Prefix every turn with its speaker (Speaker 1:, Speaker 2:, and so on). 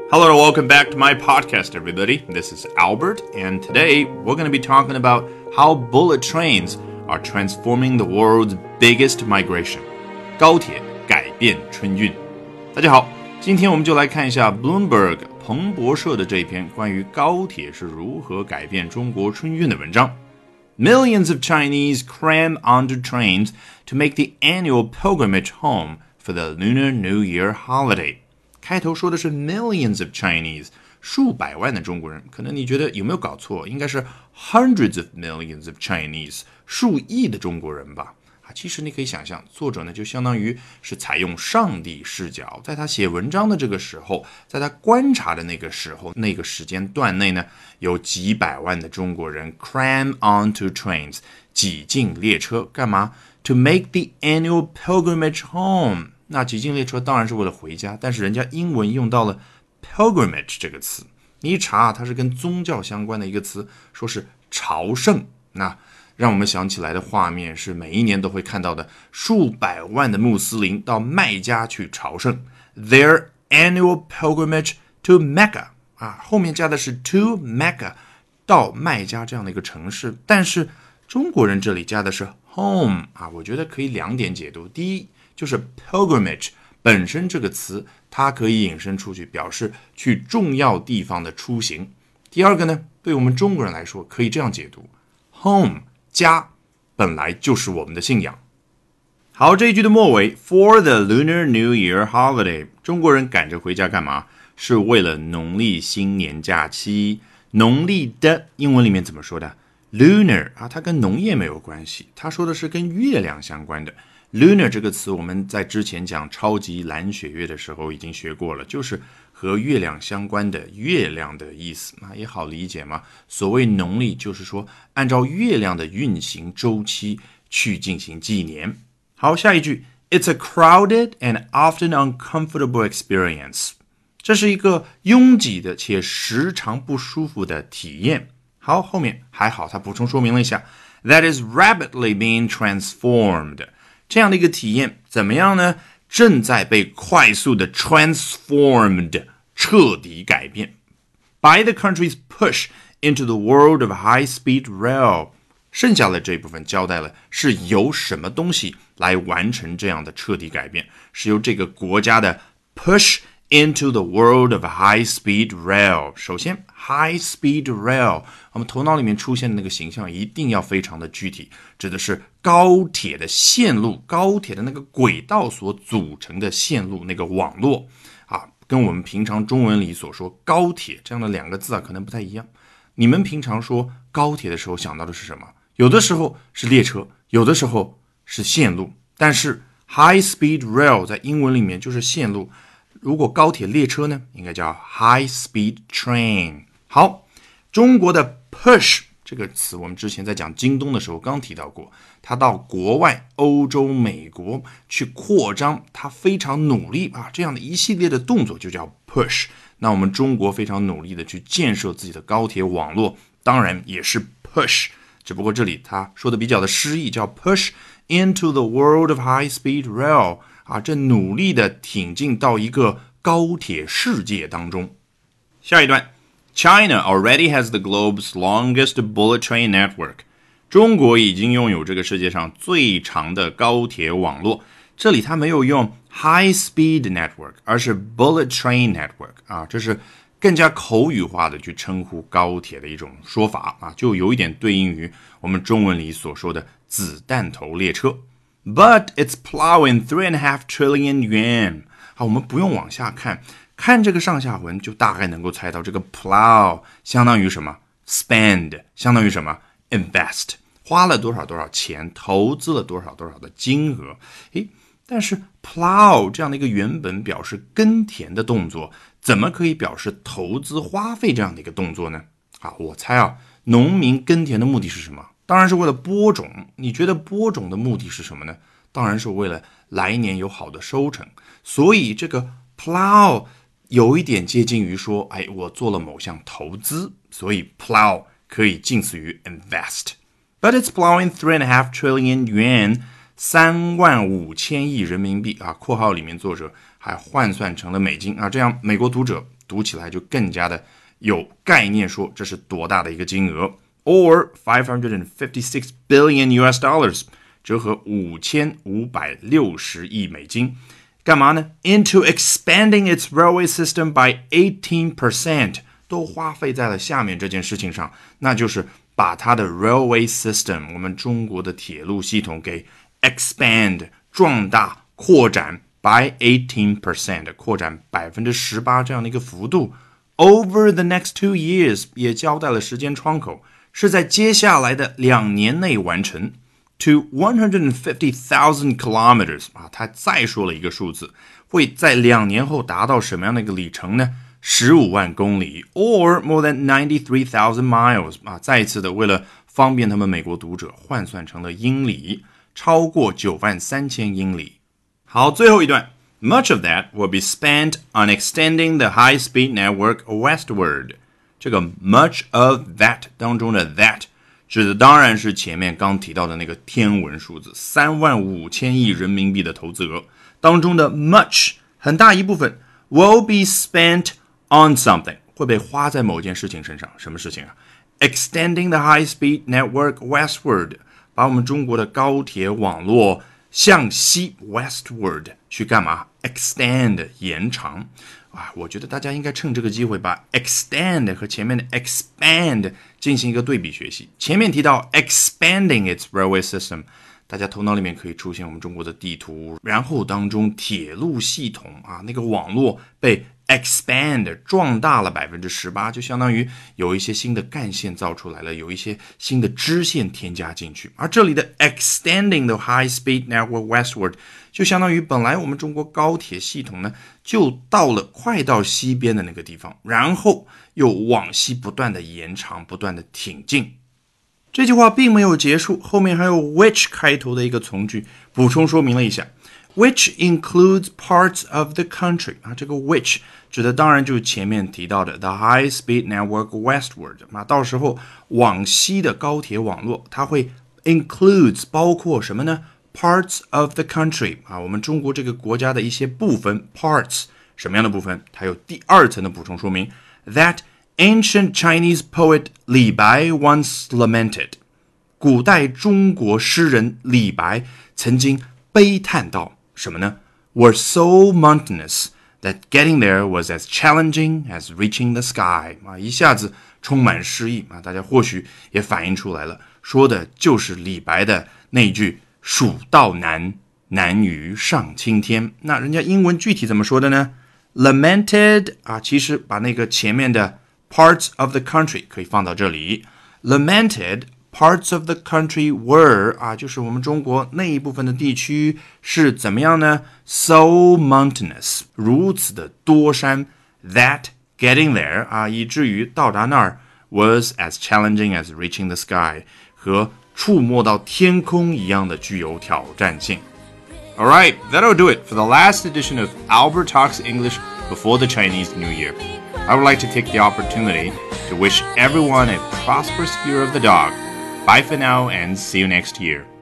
Speaker 1: Hello and welcome back to my podcast, everybody. This is Albert, and today we're going to be talking about how bullet trains are transforming the world's biggest migration. 高铁改变春运。大家好，今天我们就来看一下 Bloomberg 彭博社的这篇关于高铁是如何改变中国春运的文章。Millions of Chinese cram onto trains to make the annual pilgrimage home for the Lunar New Year holiday.开头说的是 millions of Chinese 数百万的中国人，可能你觉得有没有搞错，应该是 hundreds of millions of Chinese 数亿的中国人吧。其实你可以想象，作者呢就相当于是采用上帝视角，在他写文章的这个时候，在他观察的那个时候，那个时间段内呢，有几百万的中国人 cram onto trains 挤进列车，干嘛 to make the annual pilgrimage home。那挤进列车当然是为了回家，但是人家英文用到了 pilgrimage 这个词，你一查它是跟宗教相关的一个词，说是朝圣。那让我们想起来的画面是每一年都会看到的数百万的穆斯林到麦加去朝圣 their annual pilgrimage to Mecca 后面加的是 to Mecca 到麦加这样的一个城市，但是中国人这里加的是 home 我觉得可以两点解读。第一就是 pilgrimage 本身这个词它可以引申出去表示去重要地方的出行。第二个呢，对我们中国人来说可以这样解读 home 家本来就是我们的信仰。好，这一句的末尾 For the Lunar New Year holiday 中国人赶着回家干嘛？是为了农历新年假期。农历的英文里面怎么说的？ Lunar 它跟农业没有关系，它说的是跟月亮相关的。Lunar 这个词我们在之前讲超级蓝血月的时候已经学过了，就是和月亮相关的月亮的意思，也好理解嘛。所谓农历就是说按照月亮的运行周期去进行纪年。好，下一句 It's a crowded and often uncomfortable experience 这是一个拥挤的且时常不舒服的体验。好，后面还好他补充说明了一下 That is rapidly being transformed这样的一个体验怎么样呢？正在被快速的 transformed 彻底改变 by the country's push into the world of high-speed rail 剩下的这一部分交代了是由什么东西来完成这样的彻底改变，是由这个国家的 push into the world of high-speed rail 首先 high-speed rail 我们头脑里面出现的那个形象一定要非常的具体，指的是高铁的线路，高铁的那个轨道所组成的线路，那个网络跟我们平常中文里所说高铁这样的两个字可能不太一样。你们平常说高铁的时候想到的是什么？有的时候是列车，有的时候是线路，但是 high-speed rail 在英文里面就是线路，如果高铁列车呢，应该叫 high-speed train。 好，中国的 push 这个词我们之前在讲京东的时候刚提到过，他到国外欧洲美国去扩张，他非常努力这样的一系列的动作就叫 push。 那我们中国非常努力的去建设自己的高铁网络，当然也是 push， 只不过这里他说的比较的诗意，叫 push into the world of high-speed rail这努力的挺进到一个高铁世界当中。下一段China already has the globe's longest bullet train network. 中国已经拥有这个世界上最长的高铁网络。这里它没有用 high speed network， 而是 bullet train network 这是更加口语化的去称呼高铁的一种说法就有一点对应于我们中文里所说的子弹头列车。But it's plowing 3.5 trillion yuan. 好，我们不用往下看，看这个上下文就大概能够猜到这个 plow 相当于什么 spend 相当于什么 invest 花了多少多少钱，投资了多少多少的金额。但是 plow 这样的一个原本表示耕田的动作，怎么可以表示投资花费这样的一个动作呢？我猜农民耕田的目的是什么？当然是为了播种。你觉得播种的目的是什么呢？当然是为了来年有好的收成。所以这个 plow 有一点接近于说我做了某项投资，所以 plow 可以近似于 invest。 But it's plowing 3.5 trillion yuan 35000亿人民币括号里面作者还换算成了美金这样美国读者读起来就更加的有概念，说这是多大的一个金额。Or $556 billion US dollars， 折合5560亿美金。干嘛呢 ？Into expanding its railway system by 18%， 都花费在了下面这件事情上，那就是把它的 railway system， 我们中国的铁路系统给 expand 壮大扩展 by 18%， 扩展 18% 这样的一个幅度。Over the next 2 years， 也交代了时间窗口，是在接下来的2年内完成。To 150,000 kilometers 他再说了一个数字，会在2年后达到什么样的一个里程呢？15万公里 or more than 93,000 miles 再一次的为了方便他们美国读者换算成了英里，超过93000英里。好，最后一段 Much of that will be spent on extending the high-speed network westward。 这个 much of that 当中的 that指的当然是前面刚提到的那个天文数字35000亿人民币的投资额当中的 much 很大一部分 will be spent on something 会被花在某件事情身上。什么事情啊？ Extending the high-speed network westward， 把我们中国的高铁网络向西 westward 去干嘛？ Extend 延长。我觉得大家应该趁这个机会把 extend 和前面的 expand 进行一个对比学习。前面提到 expanding its railway system， 大家头脑里面可以出现我们中国的地图，然后当中铁路系统那个网络被 expand 壮大了 18%， 就相当于有一些新的干线造出来了，有一些新的支线添加进去。而这里的 extending the high-speed network westward 就相当于本来我们中国高铁系统呢就到了快到西边的那个地方，然后又往西不断的延长，不断的挺进。这句话并没有结束，后面还有 which 开头的一个从句补充说明了一下， which includes parts of the country 这个 which 指的当然就是前面提到的 the high-speed network westward， 到时候往西的高铁网络它会 includes 包括什么呢？Parts of the country 我们中国这个国家的一些部分 parts 什么样的部分？它有第二层的补充说明 That ancient Chinese poet 李白 once lamented， 古代中国诗人李白曾经悲叹到什么呢？ Were so mountainous that getting there was as challenging as reaching the sky 一下子充满诗意大家或许也反映出来了，说的就是李白的那句蜀道难，难于上青天。那人家英文具体怎么说的呢？ Lamented 其实把那个前面的 parts of the country 可以放到这里。 Lamented parts of the country were 就是我们中国那一部分的地区是怎么样呢？ So mountainous 如此的多山 that getting there 以至于到达那儿 was as challenging as reaching the sky 和触摸到天空一样的具有挑战性。 Alright, that'll do it for the last edition of Albert Talks English before the Chinese New Year. I would like to take the opportunity to wish everyone a prosperous year of the dog. Bye for now and see you next year.